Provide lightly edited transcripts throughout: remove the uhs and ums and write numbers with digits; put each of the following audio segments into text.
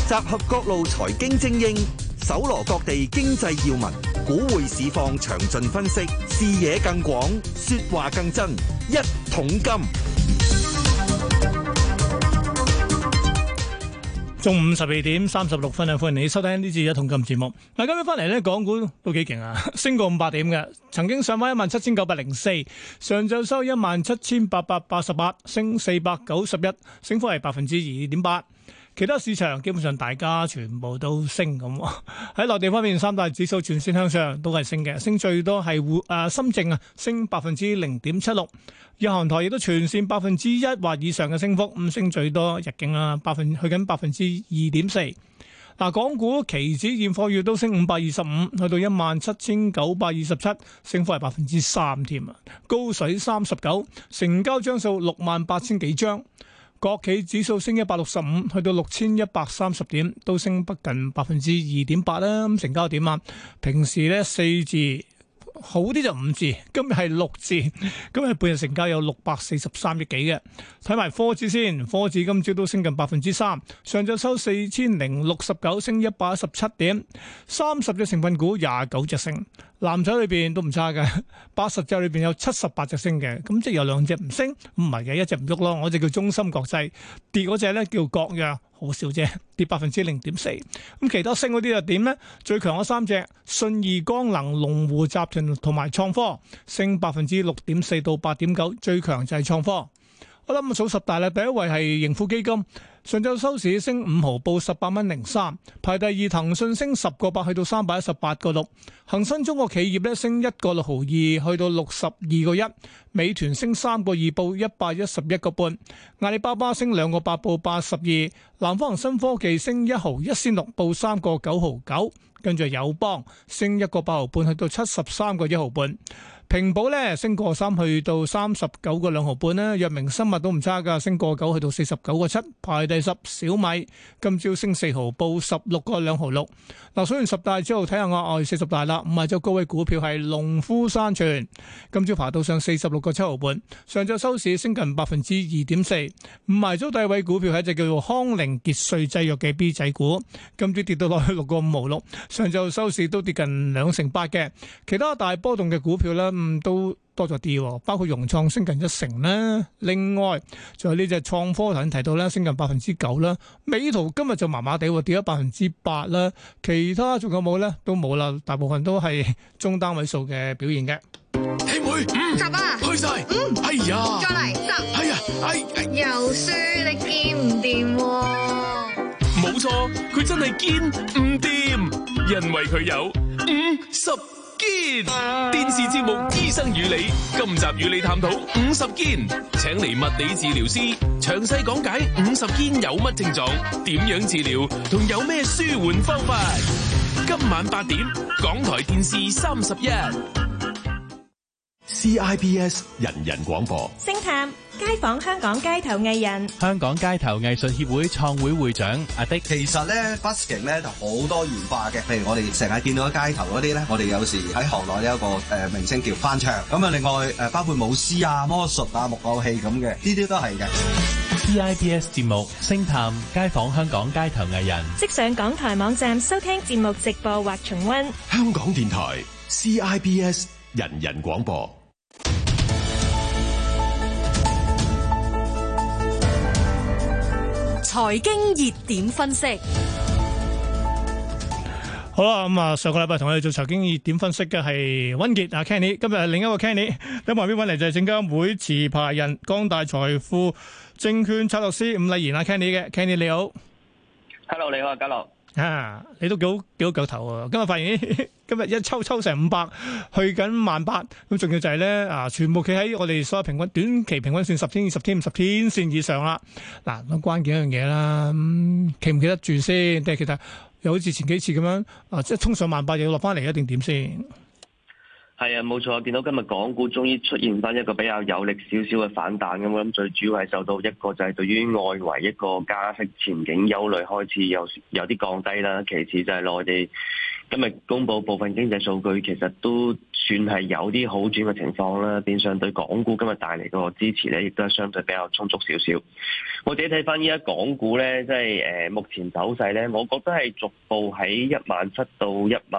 集合各路財經精英，搜羅各地經濟要聞，股匯市況詳盡分析，視野更廣，說話更真。一桶金， 中午12:36啊！歡迎你收聽呢次一桶金節目。嗱，今日翻嚟咧，港股都幾勁啊，升過500點嘅，曾經上翻17,904，上晝收17,888，升491，升幅係2.8%。其他市場基本上大家全部都升咁。喺內地方面，三大指數全線向上，都係升嘅，升最多係深證啊，升0.76%。日韓台亦都全線1%或以上嘅升幅，咁升最多日經啊，去緊2.4%。嗱，港股期指現貨月都升525，去到17,927，升幅係3%添啊，高水39，成交張數68,000幾張。國企指數升165，去到6,130點，都升不近2.8%啦。咁成交點啊，平時咧4字。好啲就5字，今日係6字，今日半日成交有643億幾嘅。睇埋科指先，科指今朝都升近3%，上晝收4,069，升117點，30隻成分股29隻升，藍籌裏邊都唔差嘅，80隻裏邊有78隻升嘅，咁即係有2隻唔升，唔係嘅，一隻唔喐咯，我隻叫中芯國際，跌嗰隻咧叫國藥。好少啫，跌0.4%。咁其他升嗰啲又點呢？最強嗰3隻，信義光能、龍湖集團同埋創科，升6.4%到8.9%，最強就係創科。我諗數十大啦，第一位係盈富基金，上晝收市升5毫，報18.03蚊。排第二，騰訊升10個8，去到318.6。恒生中國企業咧升1個6毫2，去到62個1。美團升3個2，報111個半。阿里巴巴升2個8，報82。南方恒生科技升1毫1仙6，報3個9毫9。跟住友邦升1個8毫半，去到73個1毫半。平保咧升個3，去到39個2毫半啦。藥明生物都唔差噶，升個9，去到49個7。排第10，小米今朝升4毫，報16個2毫6。嗱，數完10大之後，睇下額外40大啦。5隻高位股票係農夫山泉，今朝爬到上46個7毫半，上晝收市升近2.4%。5組低位股票係一隻叫做康寧傑瑞製藥嘅 B 仔股，今朝跌到落去6個5毫6，上晝收市都跌近2成8嘅。其他大波動嘅股票咧，都多咗啲，包括融創升近1成啦。另外，仲有呢隻創科頭先提到咧，升近9%啦。美圖今日就麻麻地，跌咗8%啦。其他仲有冇咧？都冇啦，大部分都係中單位數嘅表現嘅。 兄妹，10啊，去晒，哎呀， 再嚟10， 哎呀， 又輸你見唔掂冇錯，佢真係堅唔掂，因為佢有50堅。電視節目《醫生與你》，今集與你探討50堅，請嚟物理治療師詳細講解50堅有乜症狀、點樣治療同有咩舒緩方法。今晚8點，港台電視31。 CIBS 人人廣播， 星探街訪香港街頭藝人， 香港街頭藝術協會創會會長阿迪。 其實咧 busking 咧就好多元化嘅，譬如我哋成日見到街頭嗰啲咧，我哋有時喺行內有一個名稱叫翻唱，咁啊另外包括舞獅啊、魔術啊、木偶戲咁嘅，呢啲都係嘅。 CIBS 節目星探街訪香港街頭藝人， 即上港台網站收聽節目直播或重溫。 香港電台 CIBS 人人廣播。 財經熱點分析， 好啦，咁啊，上個禮拜同我哋做財經熱點分析嘅係溫傑啊 Kenny， 今日係另一個 Kenny， 喺旁邊揾嚟就係證監會持牌人光大財富證券策略師伍禮賢啊 Kenny 嘅 Kenny 你好 ，Hello 你好啊嘉樂。 你都幾好腳頭啊！今日發現今日一抽成500，去緊18000，咁仲要就係咧全部企喺我哋所有平均短期平均線10天、20天、50天線以上啦。嗱，咁關鍵一樣嘢啦，企唔企得住先？定係其實又好似前幾次咁樣即係衝上18000又要落翻嚟，一定點先？ 係啊，冇錯，見到今日港股終於出現翻一個比較有力少少嘅反彈咁，我諗最主要係受到一個就係對於外圍一個加息前景憂慮開始有啲降低啦，其次就係內地今日公布部分經濟數據，其實都算係有啲好轉嘅情況啦。變相對港股今日帶嚟個支持咧，亦都係相對比較充足少少。我自己睇翻依家港股咧，即係目前走勢咧，我覺得係逐步喺17,000到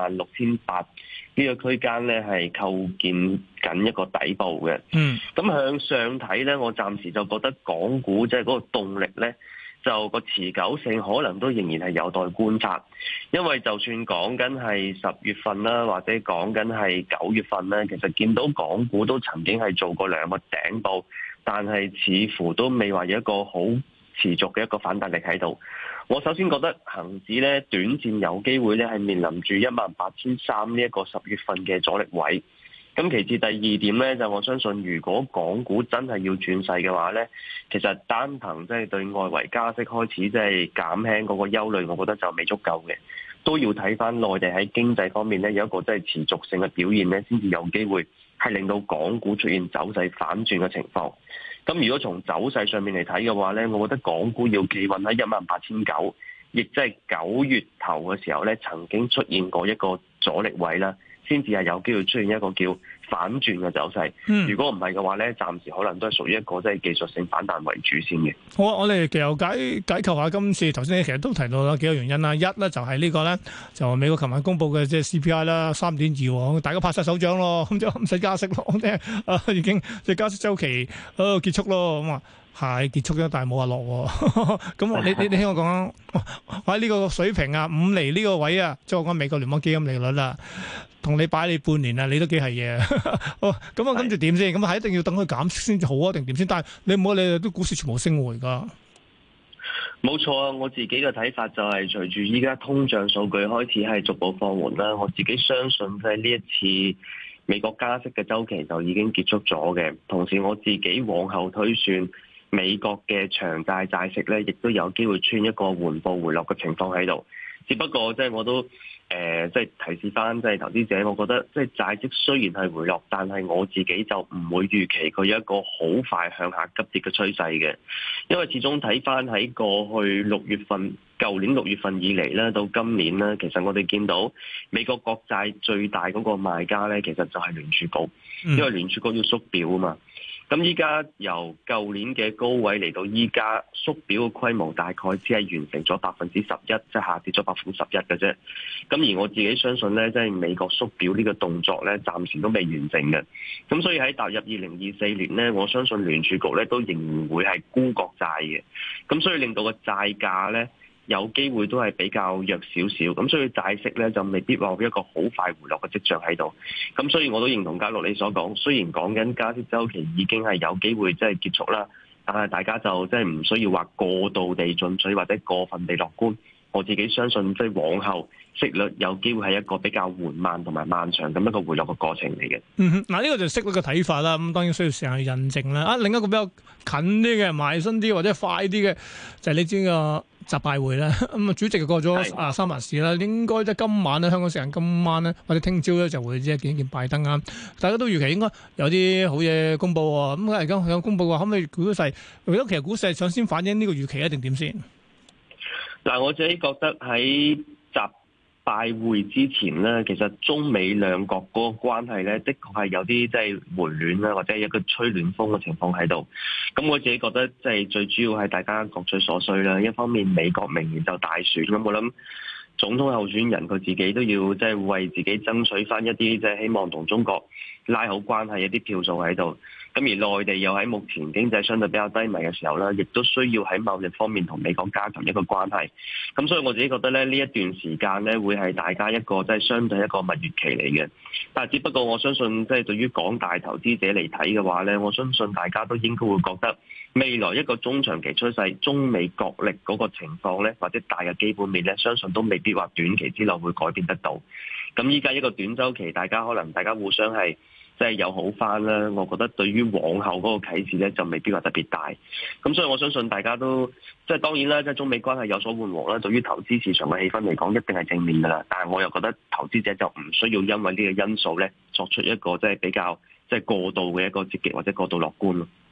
16,800呢個區間咧係構建緊一個底部嘅。咁向上睇咧，我暫時就覺得港股即係嗰個動力咧，就個持久性可能都仍然係有待觀察，因為就算講緊係10月份啦，或者講緊係9月份咧，其實見到港股都曾經係做過2個頂部，但係似乎都未話有一個好持續嘅一個反彈力喺度。我首先覺得恒指咧短線有機會咧係面臨住18,300呢一個10月份嘅阻力位。咁其次第二點咧，就我相信如果港股真係要轉勢嘅話咧，其實單憑即係對外圍加息開始即係減輕嗰個憂慮，我覺得就未足夠嘅，都要睇翻內地喺經濟方面咧有一個即係持續性嘅表現咧，先至有機會係令到港股出現走勢反轉嘅情況。咁如果從走勢上面嚟睇嘅話咧，我覺得港股要企穩喺18,900，亦即係9月頭嘅時候咧曾經出現過一個阻力位啦，先至係有機會出現一個叫反轉嘅走勢。如果唔係嘅話咧，暫時可能都係屬於一個即係技術性反彈為主先嘅。 好啊，我哋其實解構下今次頭先其實都提到啦幾個原因啦。一咧就係呢個咧就美國琴晚公布嘅即係 CPI 啦3.2，大家拍晒手掌咯，咁就唔使加息咯，即係已經即係加息週期結束咯，咁啊。係結束咗，但係冇話落喎。咁你聽我講啊，喺呢個水平啊，5厘呢個位啊，即係我講美國聯邦基金利率啦，同你擺你半年啊，你都幾係嘢。咁啊，跟住點先？咁係一定要等佢減息先至好啊，定點先？但係你唔好你哋都股市全部升回㗎。 冇錯啊！我自己嘅睇法就係隨住依家通脹數據開始係逐步放緩啦，我自己相信即係呢一次美國加息嘅週期就已經結束咗嘅。同時我自己往後推算，美國嘅長債債息咧，亦都有機會出現一個緩步回落嘅情況喺度。只不過即係我都即係提示翻即係投資者，我覺得即係債息雖然係回落，但係我自己就唔會預期佢有一個好快向下急跌嘅趨勢嘅。因為始終睇翻喺過去6月份，舊年6月份以嚟咧，到今年咧，其實我哋見到美國國債最大嗰個賣家咧，其實就係聯儲局，因為聯儲局要縮表啊嘛。咁依家由舊年嘅高位嚟到依家縮表嘅規模，大概只係完成咗11%，即係下跌咗11%嘅啫。咁而我自己相信咧，即係美國縮表呢個動作咧，暫時都未完成嘅。咁所以喺踏入2024年咧，我相信聯儲局咧都仍然會係沽國債嘅。咁所以令到個債價咧，有機會都係比較弱少少，咁所以債息咧就未必話有一個好快回落嘅跡象喺度。咁所以我都認同嘉樂你所講，雖然講緊加息週期已經係有機會即係結束啦，但係大家就即係唔需要話過度地進取或者過分地樂觀。我自己相信即係往後息率有機會係一個比較緩慢同埋漫長咁一個回落嘅過程嚟嘅。 嗱呢個就係息率嘅睇法啦。咁當然需要時間去印證啦。另一個比較近啲嘅、埋身啲或者快啲嘅，就係你知個習拜會啦。咁啊，主席過咗三藩市啦，應該即係今晚咧，香港時間今晚咧或者聽朝咧就會即係見一見拜登啊。大家都預期應該有啲好嘢公佈喎。咁而家有公佈嘅話，可唔可以估勢？如果其實股市係想先反映呢個預期一定點先？ 嗱，我自己覺得喺習拜會之前咧，其實中美兩國嗰個關係咧，的確係有啲即係回暖啦，或者一個吹暖風嘅情況喺度。咁我自己覺得即係最主要係大家各取所需啦。一方面美國明年就大選，咁我諗總統候選人佢自己都要即係為自己爭取翻一啲即係希望同中國拉好關係一啲票數喺度。咁而內地又喺目前經濟相對比較低迷嘅時候咧，亦都需要喺貿易方面同美國加強一個關係。咁所以我自己覺得咧，呢一段時間咧會係大家一個即係相對一個蜜月期嚟嘅。但係只不過我相信即係對於廣大投資者嚟睇嘅話咧，我相信大家都應該會覺得未來一個中長期趨勢，中美角力嗰個情況咧，或者大嘅基本面咧，相信都未必話短期之內會改變得到。咁依家一個短週期，大家互相係即係有好翻啦，我覺得對於往後嗰個啟示咧就未必話特別大，咁所以我相信大家都即係當然啦，即係中美關係有所緩和啦，對於投資市場嘅氣氛嚟講一定係正面噶啦，但係我又覺得投資者就唔需要因為呢個因素咧作出一個即係比較即係過度嘅一個積極或者過度樂觀咯。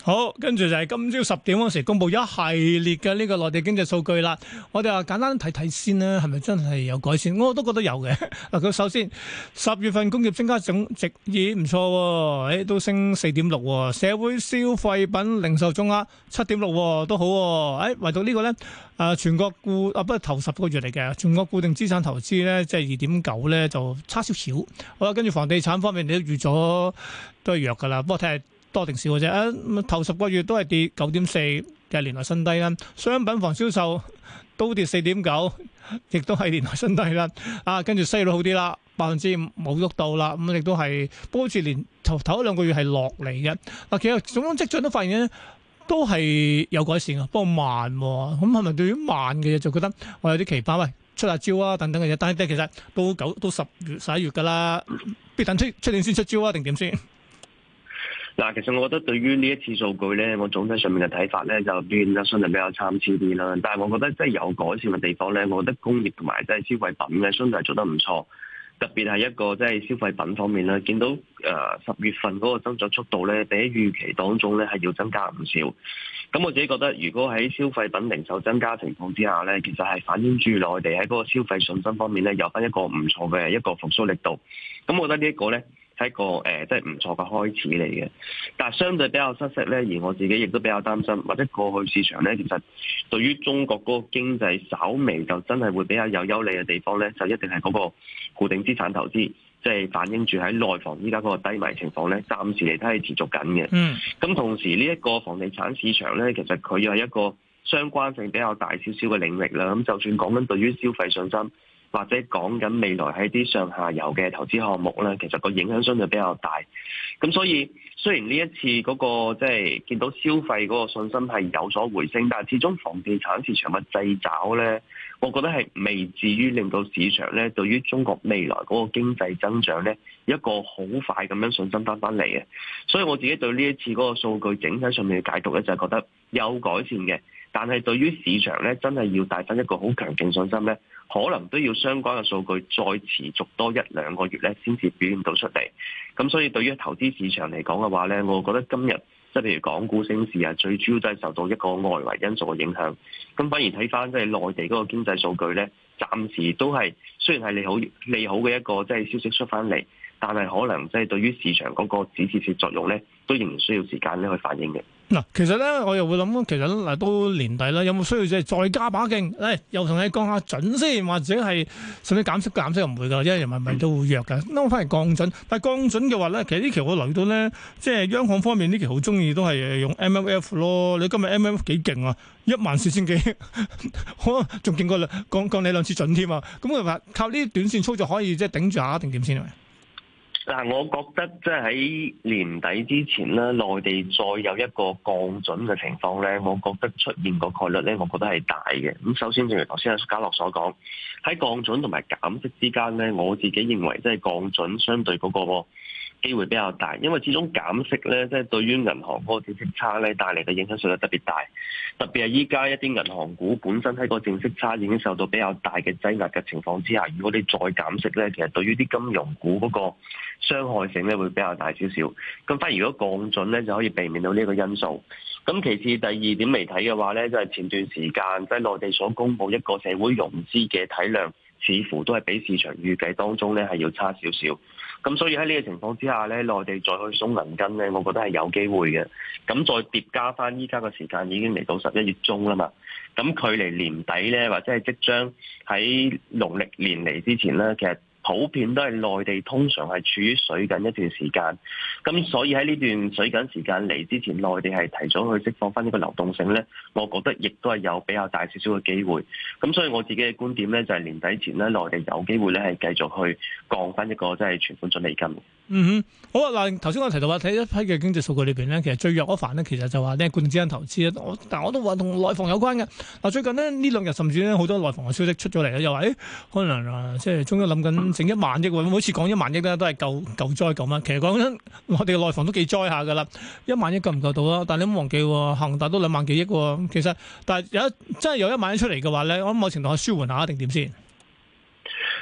好，跟住就係今朝10點嗰時公布一系列嘅呢個內地經濟數據啦。我哋話簡單睇睇先啦，係咪真係有改善？我都覺得有嘅。嗱，佢首先10月份工業增加總值已唔錯喎，都升4.6喎。社會消費品零售總額7.6都好喎。唯獨呢個咧，全國不過頭10個月嚟嘅，全國固定資產投資咧即係2.9咧就差少少。好啦，跟住房地產方面你都預咗都係弱㗎啦，不過睇下多定少嘅啫，頭10個月都係跌9.4嘅年內新低啦。商品房銷售都跌4.9，亦都係年內新低啦。跟住西率好啲啦，5%冇喐到啦。咁亦都係，不過好似連頭1-2個月係落嚟嘅。其實種種跡象都發現咧，都係有改善嘅，不過慢喎。咁係咪對於慢嘅嘢就覺得我有啲期盼？喂，出下招啊等等嘅嘢，但係其實到10月11月㗎啦，必等出年先出招啊，定點先？ 嗱，其實我覺得對於呢一次數據咧，我總體上面嘅睇法咧就變得相對比較參差啲啦。但係我覺得即係有改善嘅地方咧，我覺得工業同埋即係消費品咧，相對係做得唔錯。特別係一個即係消費品方面咧，見到10月份嗰個增長速度咧，比起預期當中咧係要增加唔少。咁我自己覺得，如果喺消費品零售增加情況之下咧，其實係反映住內地喺嗰個消費信心方面咧，有翻一個唔錯嘅一個復甦力度。咁我覺得呢一個咧，係一個即係唔錯嘅開始嚟嘅，但係相對比較失色咧，而我自己亦都比較擔心，或者過去市場咧，其實對於中國嗰個經濟稍微就真係會比較有優利嘅地方咧，就一定係嗰個固定資產投資，即係反映住喺內房依家嗰個低迷情況咧，暫時嚟睇係持續緊嘅。咁同時呢一個房地產市場咧，其實佢又係一個相關性比較大少少嘅領域啦。咁就算講緊對於消費信心，或者講緊未來喺啲上下游嘅投資項目咧，其實個影響相對比較大。咁所以雖然呢一次嗰個即係見到消費嗰個信心係有所回升，但係始終房地產市場嘅掣肘咧，我覺得係未至於令到市場咧對於中國未來嗰個經濟增長咧一個好快咁樣信心翻嚟嘅。所以我自己對呢一次嗰個數據整體上面嘅解讀咧，就係覺得有改善嘅。但係對於市場咧，真係要帶翻一個好強勁信心咧，可能都要相關嘅數據再持續多1-2個月咧，先至表現到出嚟。咁所以對於投資市場嚟講嘅話咧，我覺得今日即係譬如港股升市啊，最主要都係受到一個外圍因素嘅影響。咁反而睇翻即係內地嗰個經濟數據咧，暫時都係雖然係利好嘅一個即係消息出翻嚟，但係可能即係對於市場嗰個止蝕作用咧，都仍然需要時間咧去反映嘅。 嗱，其實咧，我又會諗，其實嗱都年底啦，有冇需要即係再加把勁？又同你降下準先，或者係甚至減息又唔會㗎，因為人民幣都會弱㗎。咁我翻嚟降準，但係降準嘅話咧，其實呢期我留意到咧，即係央行方面呢期好中意都係用 MLF 咯。你今日 MLF 幾勁啊？14,000幾，可能仲勁過降你2次準添啊！咁佢話靠呢啲短線操作可以即係頂住下定點先係咪？ 嗱，我覺得即係喺年底之前咧，內地再有一個降準嘅情況咧，我覺得出現個概率咧，我覺得係大嘅。咁首先，正如頭先阿家樂所講，喺降準同埋減息之間咧，我自己認為即係降準相對嗰個機會比較大，因為始終減息咧，即係對於銀行嗰個淨息差咧帶嚟嘅影響實在特別大。特別係依家一啲銀行股本身喺個淨息差已經受到比較大嘅擠壓嘅情況之下，如果你再減息咧，其實對於啲金融股嗰個傷害性咧會比較大少少。咁反而如果降準咧就可以避免到呢個因素。咁其次第二點嚟睇嘅話咧，就係前段時間即係內地所公布一個社會融資嘅體量，似乎都係比市場預計當中咧係要差少少。咁所以喺呢個情況之下咧，內地再去鬆銀根咧，我覺得係有機會嘅。咁再疊加翻依家嘅時間已經嚟到11月中啦嘛，咁距離年底咧，或者係即將喺農曆年嚟之前咧，其實普遍都係內地通常係處於水緊一段時間，咁所以喺呢段水緊時間嚟之前，內地係提早去釋放翻呢個流動性咧，我覺得亦都係有比較大少少嘅機會。咁所以我自己嘅觀點咧，就係年底前咧，內地有機會咧係繼續去降翻一個即係存款準備金。 好啊！嗱，頭先我提到話睇一批嘅經濟數據裏邊咧，其實最弱嗰範咧，其實就話呢固定資產投資咧。但我都話同內房有關嘅。嗱，最近呢2日甚至咧好多內房嘅消息出咗嚟咧，又話可能即係終於諗緊整1萬億喎。每次講1萬億咧都係救災咁啊。其實講緊我哋嘅內房都幾災下㗎啦。1萬億夠唔夠到啊？但係你唔好忘記恒大都2萬幾億喎。其實但係真係有1萬億出嚟嘅話咧，我諗某程度係舒緩下定點先。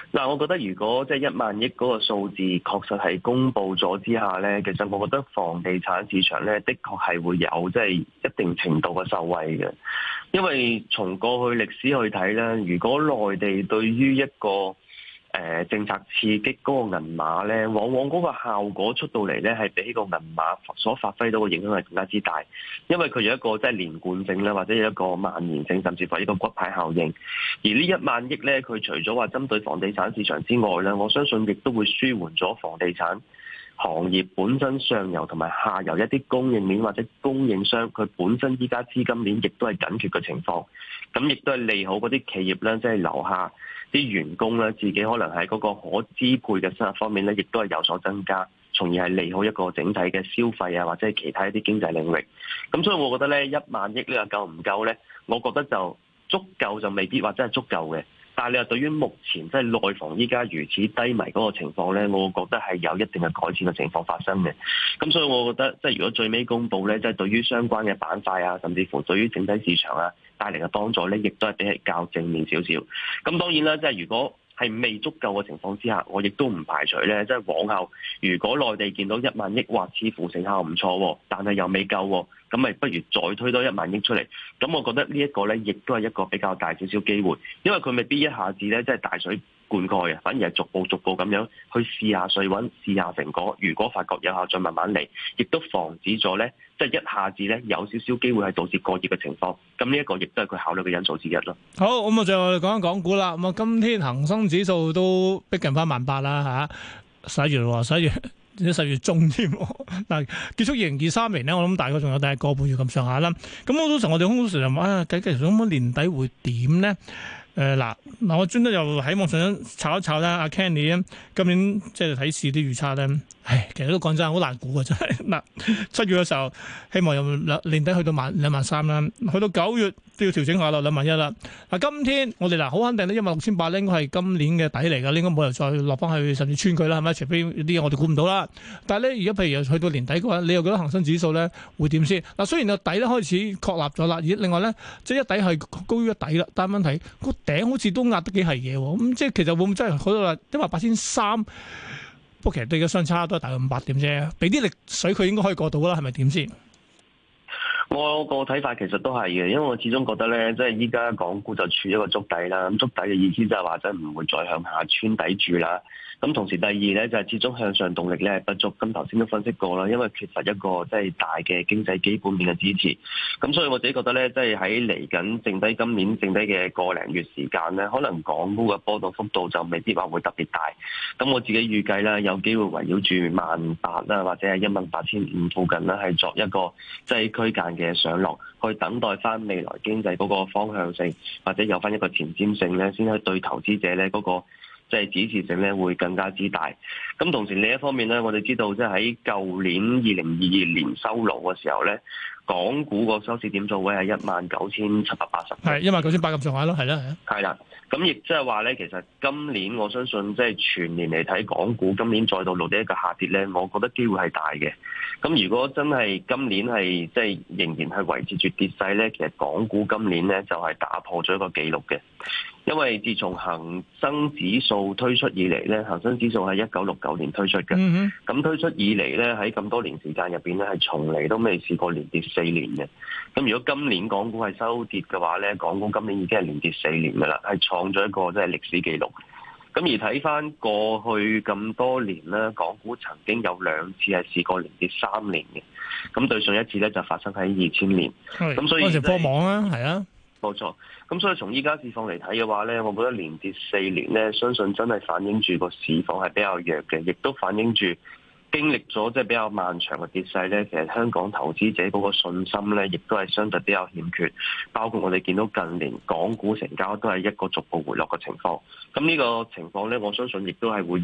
嗱，我覺得如果即係1萬億嗰個數字確實係公布咗之下咧，其實我覺得房地產市場咧，的確係會有即係一定程度嘅受惠嘅。因為從過去歷史去睇咧，如果內地對於一個政策刺激嗰個銀碼咧，往往嗰個效果出到嚟咧，係比個銀碼所發揮到嘅影響係更加之大，因為佢有一個即係連貫性啦，或者有一個蔓延性，甚至乎一個骨牌效應。而呢1萬億咧，佢除咗話針對房地產市場之外咧，我相信亦都會舒緩咗房地產行業本身上游同埋下游一啲供應鏈或者供應商，佢本身依家資金鏈亦都係緊缺嘅情況，咁亦都係利好嗰啲企業咧，即係留下啲員工咧，自己可能喺嗰個可支配嘅收入方面咧，亦都係有所增加，從而係利好一個整體嘅消費啊，或者係其他一啲經濟領域。咁所以我覺得咧，1萬億呢個夠唔夠咧？我覺得就足夠就未必話真係足夠嘅。但係你話對於目前即係內房依家如此低迷嗰個情況咧，我覺得係有一定嘅改善嘅情況發生嘅。咁所以我覺得即係如果最尾公佈咧，即係對於相關嘅板塊啊，甚至乎對於整體市場啊帶嚟嘅幫助咧，亦都係比係較正面少少。咁當然啦，即係如果係未足夠嘅情況之下，我亦都唔排除咧，即係往後如果內地見到1萬億，或似乎成效唔錯，但係又未夠，咁咪不如再推多1萬億出嚟。咁我覺得呢一個咧，亦都係一個比較大少少機會，因為佢未必一下子咧，即係大水灌溉啊，反而係逐步咁樣去試下水溫，試下成果。如果發覺有效，再慢慢嚟，亦都防止咗咧，即係一下子咧有少少機會係導致過熱嘅情況。咁呢一個亦都係佢考慮嘅因素之一咯。 好，咁啊，最後我哋講一講股啦。咁啊，今天恒生指數都逼近翻18,000啦嚇，11月喎，11月。10月中添，嗱結束2023年咧，我諗大概仲有大概個半月咁上下啦。咁好多時候我哋空時就話啊，計咁年底會點咧？嗱，我專登又喺網上炒一炒啦。阿 Kenny 咧，今年即係睇市啲預測咧，其實都講真好難估啊！真係嗱，7月嘅時候希望有年底去到23,000啦，去到9月都要調整下啦，21,000啦。嗱，今天我哋嗱好肯定咧，16,800咧應該係今年嘅底嚟㗎，應該冇人再落翻去甚至穿佢啦，係咪？除非啲嘢我哋估唔到啦。但係咧，而家譬如又去到年底嘅話，你又覺得恒生指數咧會點先？嗱，雖然個底咧開始確立咗啦，而另外咧即係一底係高於一底啦，但係問題個頂好似都壓得幾係嘢喎。咁即係其實會唔會真係去到話18,300？不過其實對嘅相差都係大概500點啫，俾啲力水佢應該可以過到啦，係咪點先？ 我個睇法其實都係嘅，因為我始終覺得咧，即係依家港股就處一個築底啦。咁築底嘅意思就係話真唔會再向下穿底住啦。咁同時第二咧就係始終向上動力咧係不足。咁頭先都分析過啦，因為缺乏一個即係大嘅經濟基本面嘅支持。咁所以我自己覺得咧，即係喺嚟緊剩低今年剩低嘅個零月時間咧，可能港股嘅波動幅度就未必話會特別大。咁我自己預計啦，有機會圍繞住18,000啦，或者係18,500附近啦，係作一個即係區間嘅上落，去等待翻未來經濟嗰個方向性，或者有翻一個前瞻性咧，先去對投資者咧嗰個即係指示性咧會更加之大。咁同時另一方面咧，我哋知道即係喺舊年2022年收爐嘅時候咧，港股個收市點數位係19,780， 係19,800咁上下咯，係啦， 係啦。咁亦即係話咧，其實今年我相信即係全年嚟睇，港股今年再度錄得一個下跌咧，我覺得機會係大嘅。咁如果真係今年係即係仍然係維持住跌勢咧，其實港股今年咧就係打破咗一個紀錄嘅。因為自從恒生指數推出以嚟咧，恒生指數係1969年推出嘅。咁推出以嚟咧，喺咁多年時間入邊咧，係從嚟都未試過連跌4年嘅。咁如果今年港股係收跌嘅話咧，港股今年已經係連跌4年噶啦，係創咗一個即係歷史紀錄。咁而睇翻過去咁多年咧，港股曾經有2次係試過連跌3年嘅。咁對上一次咧就發生喺2000年。咁所以嗰陣時科網啊，係啊。 冇錯，咁所以從依家市況嚟睇嘅話咧，我覺得連跌4年咧，相信真係反映住個市況係比較弱嘅，亦都反映住經歷咗即係比較漫長嘅跌勢咧，其實香港投資者嗰個信心咧，亦都係相對比較欠缺。包括我哋見到近年港股成交都係一個逐步回落嘅情況。咁呢個情況咧，我相信亦都係會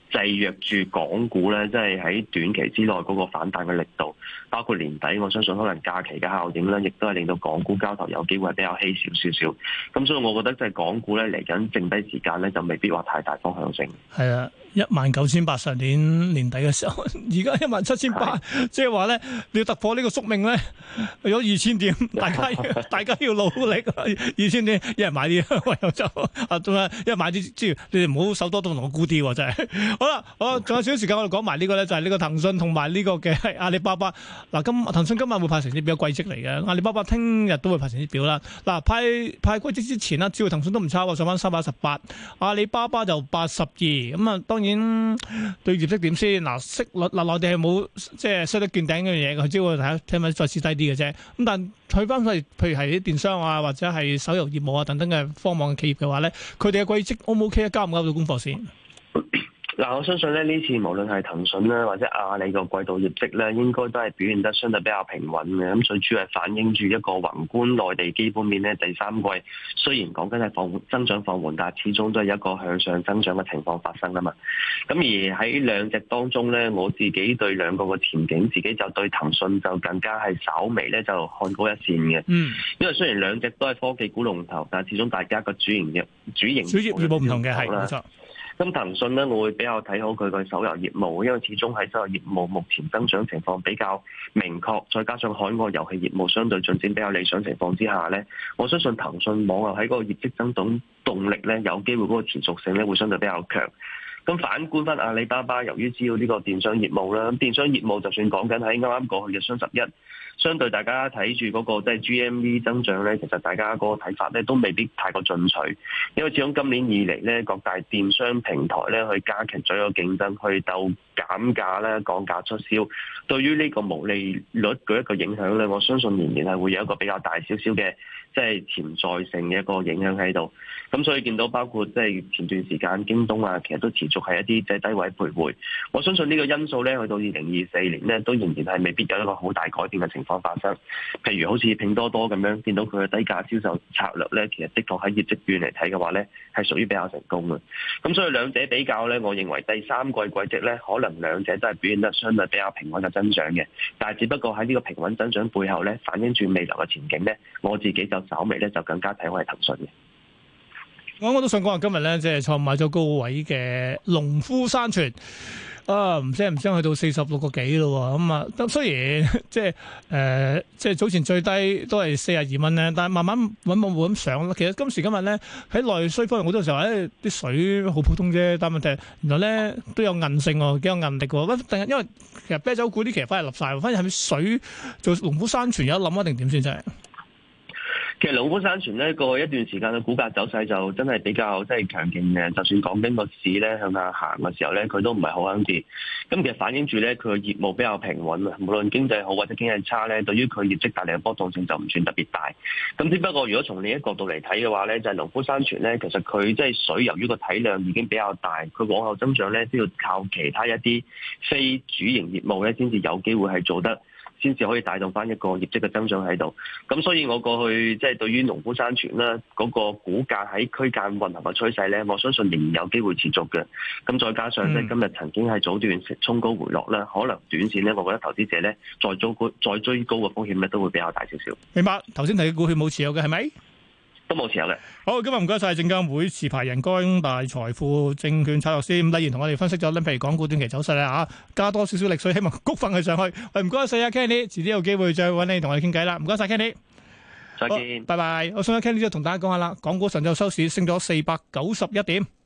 制約住港股咧，即係喺短期之內嗰個反彈嘅力度，包括年底，我相信可能假期嘅效應咧，亦都係令到港股交投有機會係比較稀少少少。咁所以我覺得即係港股咧嚟緊剩低時間咧，就未必話太大方向性。 係啊。19,800上年底嘅時候，而家17,800，即係話咧，你要突破呢個宿命咧，有2,000點，大家要努力，2,000點，一人買啲，唯有就仲有一人買啲，即係你哋唔好手多都同我估啲喎，真係。好啦，仲有少少時間，我哋講埋呢個咧，就係呢個騰訊同埋呢個嘅阿里巴巴。嗱，騰訊今晚會派成績表季績嚟嘅，阿里巴巴聽日都會派成績表啦。嗱，派季績之前啦，只要騰訊都唔差喎，上翻318，阿里巴巴就82，咁啊當然對業績點先？嗱，息率內地係冇即係息率見頂嗰樣嘢，佢只會睇下再試低啲嘅啫。咁但睇翻譬如係啲電商啊，或者係手遊業務啊等等嘅科網嘅企業嘅話咧，佢哋嘅季績 O 唔 OK 啊？交唔交到功課先？ 嗱，我相信咧呢次無論係騰訊咧或者阿里個季度業績咧，應該都係表現得相對比較平穩嘅。咁最主要係反映住一個宏觀內地基本面咧，第三季雖然講緊係增長放緩，但係始終都係一個向上增長嘅情況發生啊嘛。咁而喺兩隻當中咧，我自己對兩個嘅前景，自己就對騰訊就更加係稍微咧就看高一線嘅。因為雖然兩隻都係科技股龍頭，但係始終大家個主營業務唔同嘅，係冇錯。 咁騰訊咧，我會比較睇好佢個手遊業務，因為始終喺手遊業務目前增長情況比較明確，再加上海外遊戲業務相對進展比較理想情況之下咧，我相信騰訊網遊喺嗰個業績增長動力咧，有機會嗰個持續性咧會相對比較強。咁反觀翻阿里巴巴，由於只要呢個電商業務啦，咁電商業務就算講緊喺啱啱過去嘅雙11，相對大家睇住嗰個即係 GMV 增長咧，其實大家嗰個睇法咧都未必太過進取，因為始終今年以嚟咧，各大電商平台咧去加強咗個競爭，去鬥減價咧、降價促銷，對於呢個毛利率嘅一個影響咧，我相信年年係會有一個比較大少少嘅即係潛在性嘅一個影響喺度。咁所以見到包括即係前段時間京東啊，其實都持續係一啲即係低位徘徊。我相信呢個因素咧，去到2024年咧，都仍然係未必有一個好大改變嘅情況發生。譬如好似拼多多咁樣，見到佢嘅低價銷售策略咧，其實的確喺業績面嚟睇嘅話咧，係屬於比較成功嘅。咁所以兩者比較咧，我認為第三季季績咧，可能兩者都係表現得相對比較平穩嘅增長嘅。但係只不過喺呢個平穩增長背後咧，反映住未來嘅前景咧，我自己就稍微咧就更加睇好係騰訊嘅。 我都想講下今日咧，即係創買咗高位嘅農夫山泉啊，唔聲去到46個幾咯。咁啊，雖然即係早前最低都係42蚊咧，但係慢慢穩咁上啦。其實今時今日咧喺內需方面好多時候啲水好普通啫，但係問題原來咧都有韌性喎，幾有韌力喎。因為其實啤酒股啲其實反而立晒，反而係咪水做農夫山泉有得諗一定點先真係？ 其實農夫山泉咧過去一段時間嘅股價走勢就真係比較即係強勁嘅，就算講緊個市咧向下行嘅時候咧，佢都唔係好肯跌。咁其實反映住咧佢嘅業務比較平穩啊，無論經濟好或者經濟差咧，對於佢業績帶嚟嘅波動性就唔算特別大。咁只不過如果從另一個角度嚟睇嘅話咧，就係農夫山泉咧，其實佢即係水由於個體量已經比較大，佢往後增長咧都要靠其他一啲非主營業務咧先至有機會係做得，先至可以帶動翻一個業績嘅增長喺度。咁所以我過去即係對於農夫山泉啦嗰個股價喺區間運行嘅趨勢咧，我相信仍然有機會持續嘅。咁再加上咧今日曾經係早段衝高回落啦，可能短線咧，我覺得投資者咧再追高嘅風險咧都會比較大少少。 明白。頭先提嘅股票冇持有嘅係咪？ 都冇持有嘅。好， 今日唔該晒證監會持牌人光大財富證券策略師伍禮賢同我哋分析咗譬如港股短期走勢啦嚇，加多少少力水，希望谷翻佢上去。唔該晒啊 Kenny， 遲啲有機會再揾你同我哋傾偈啦。唔該晒 Kenny， 再見， 拜拜。我想阿 Kenny 就同大家講下啦，港股上晝收市升咗491點。